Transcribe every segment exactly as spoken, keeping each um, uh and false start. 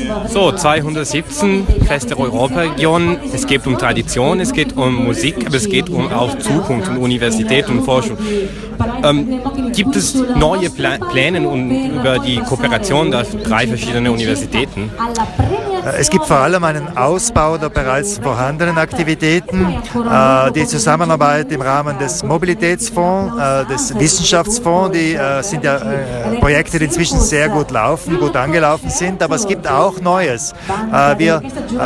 So, zweihundertsiebzehn, Fest der Europaregion. Es geht um Tradition, es geht um Musik, aber es geht um auch Zukunft und Universität und Forschung. Ähm, gibt es neue Pla- Pläne um, über die Kooperation der drei verschiedenen Universitäten? Es gibt vor allem einen Ausbau der bereits vorhandenen Aktivitäten, äh, die Zusammenarbeit im Rahmen des Mobilitätsfonds, äh, des Wissenschaftsfonds, die äh, sind ja äh, Projekte, die inzwischen sehr gut laufen, gut angelaufen sind, aber es gibt auch Neues. Äh, wir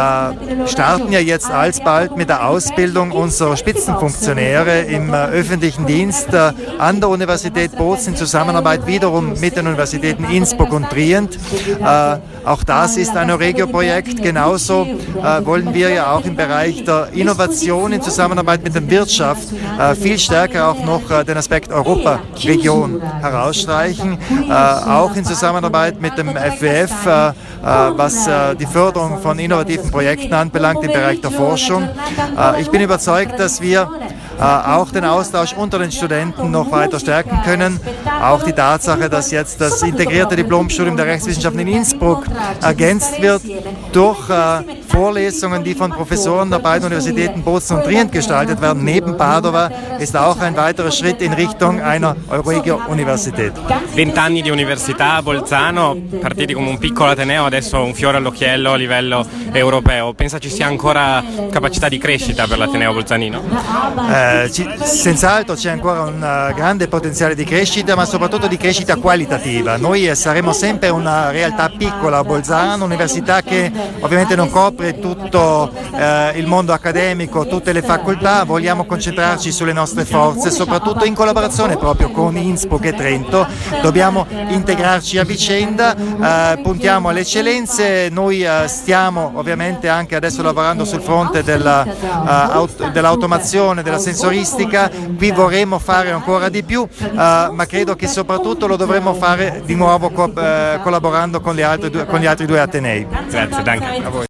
äh, starten ja jetzt alsbald mit der Ausbildung unserer Spitzenfunktionäre im äh, öffentlichen Dienst äh, an der Universität Bozen in Zusammenarbeit wiederum mit den Universitäten Innsbruck und Trient. Äh, auch das ist ein Euregio-Projekt. Genauso äh, wollen wir ja auch im Bereich der Innovation in Zusammenarbeit mit der Wirtschaft äh, viel stärker auch noch äh, den Aspekt Europa-Region herausstreichen, äh, auch in Zusammenarbeit mit dem F W F, äh, äh, was äh, die Förderung von innovativen Projekten anbelangt im Bereich der Forschung. Äh, ich bin überzeugt, dass wir äh, auch den Austausch unter den Studenten noch weiter stärken können. Auch die Tatsache, dass jetzt das integrierte Diplomstudium der Rechtswissenschaften in Innsbruck ergänzt wird durch äh, Vorlesungen, die von Professoren der beiden Universitäten Bozen und Trient gestaltet werden, neben Padova, ist auch ein weiterer Schritt in Richtung einer Euregio-Universität. Vent'anni di università a Bolzano, partiti come un piccolo ateneo, adesso un fiore all'occhiello a livello europeo. Pensa ci sia ancora capacità di crescita per l'ateneo bolzanino? Eh, ci, senz'altro c'è ancora un uh, grande potenziale di crescita, ma soprattutto di crescita qualitativa. Noi eh, saremo sempre una realtà piccola a Bolzano, un'università che ovviamente non copre tutto eh, il mondo accademico, tutte le facoltà. Vogliamo concentrarci sulle nostre forze, soprattutto in collaborazione proprio con Innsbruck e Trento. Dobbiamo integrarci a vicenda, eh, puntiamo alle eccellenze. Noi eh, stiamo ovviamente anche adesso lavorando sul fronte della, uh, aut- dell'automazione, della sensoristica. Qui vorremmo fare ancora di più, uh, ma credo che soprattutto lo dovremmo fare di nuovo co- uh, collaborando con, le altre due, con gli altri due atenei. Grazie, danke. A voi.